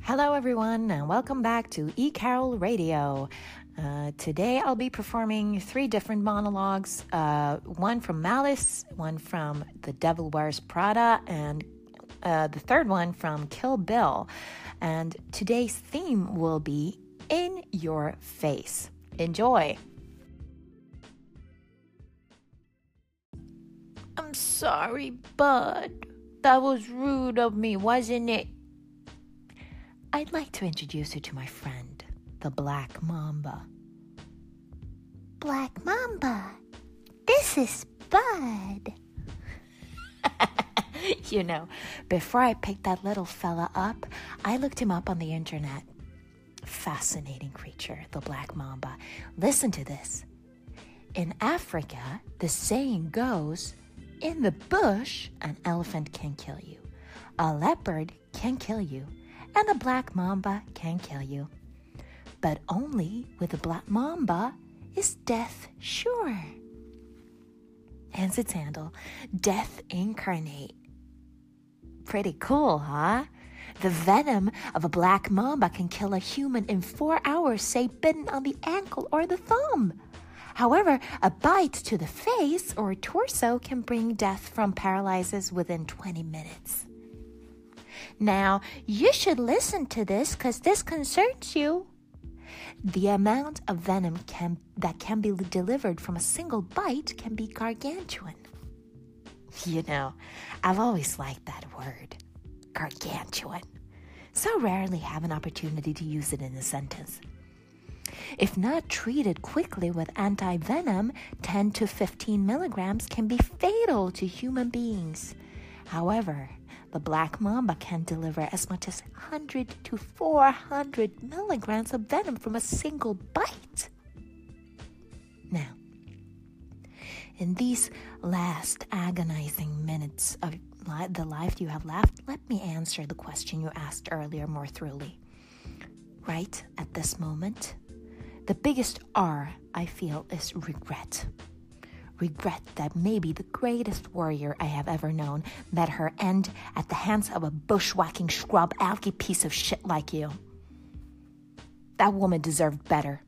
Hello everyone and welcome back to eCarol Radio. Today I'll be performing 3 different monologues, one from Malice, one from The Devil Wears Prada, and the third one from Kill Bill. And today's theme will be In Your Face. Enjoy! I'm sorry, bud. That was rude of me, wasn't it? I'd like to introduce you to my friend, the Black Mamba. Black Mamba, this is Bud. You know, before I picked that little fella up, I looked him up on the internet. Fascinating creature, the Black Mamba. Listen to this. In Africa, the saying goes, in the bush, an elephant can kill you. A leopard can kill you. And a black mamba can kill you. But only with a black mamba is death sure. Hence its handle, Death Incarnate. Pretty cool, huh? The venom of a black mamba can kill a human in 4 hours, say bitten on the ankle or the thumb. However, a bite to the face or torso can bring death from paralysis within 20 minutes. Now, you should listen to this because this concerns you. The amount of venom that can be delivered from a single bite can be gargantuan. You know, I've always liked that word, gargantuan. So rarely have an opportunity to use it in a sentence. If not treated quickly with anti-venom, 10 to 15 milligrams can be fatal to human beings. However, the black mamba can deliver as much as 100 to 400 milligrams of venom from a single bite. Now, in these last agonizing minutes of the life you have left, let me answer the question you asked earlier more thoroughly. Right at this moment, the biggest R I feel is regret. Regret that maybe the greatest warrior I have ever known met her end at the hands of a bushwhacking scrub alky piece of shit like you. That woman deserved better.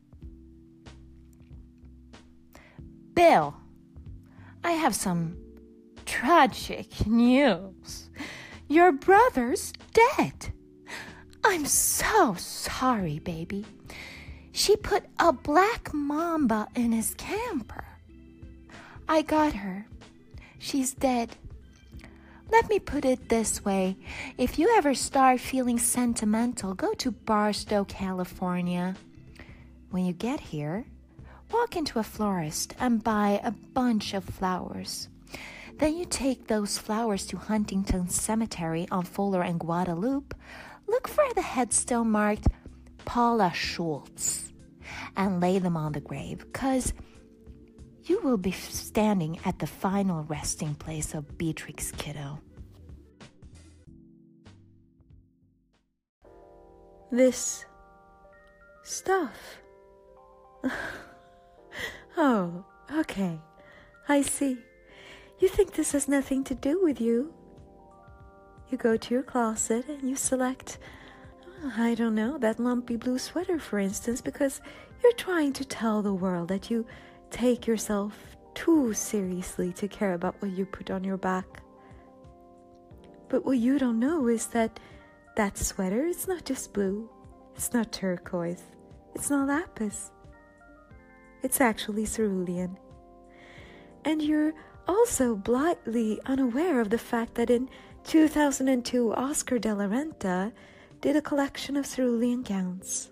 Bill, I have some tragic news. Your brother's dead. I'm so sorry, baby. She put a black mamba in his camper. I got her. She's dead. Let me put it this way. If you ever start feeling sentimental, go to Barstow, California. When you get here, walk into a florist and buy a bunch of flowers. Then you take those flowers to Huntington Cemetery on Fuller and Guadalupe. Look for the headstone marked Paula Schultz and lay them on the grave, because you will be standing at the final resting place of Beatrix Kiddo. This stuff. Oh, okay. I see. You think this has nothing to do with you. You go to your closet and you select, I don't know, that lumpy blue sweater, for instance, because you're trying to tell the world that you take yourself too seriously to care about what you put on your back. But what you don't know is that sweater is not just blue, it's not turquoise, it's not lapis. It's actually cerulean. And you're also blithely unaware of the fact that in 2002, Oscar de la Renta did a collection of cerulean gowns.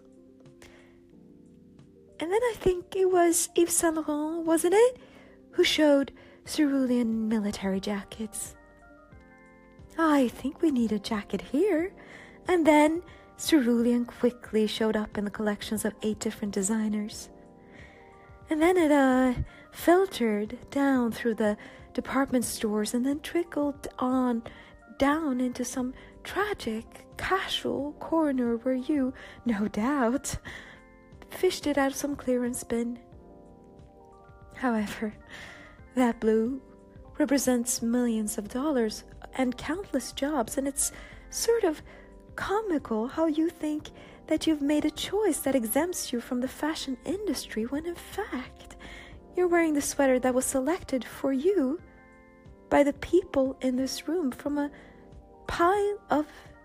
And then I think it was Yves Saint Laurent, wasn't it, who showed cerulean military jackets. I think we need a jacket here. And then cerulean quickly showed up in the collections of 8 different designers. And then it filtered down through the department stores and then trickled on down into some tragic, casual corner where you, no doubt, fished it out of some clearance bin. However, that blue represents millions of dollars and countless jobs, and it's sort of comical how you think that you've made a choice that exempts you from the fashion industry when in fact you're wearing the sweater that was selected for you by the people in this room from a pile of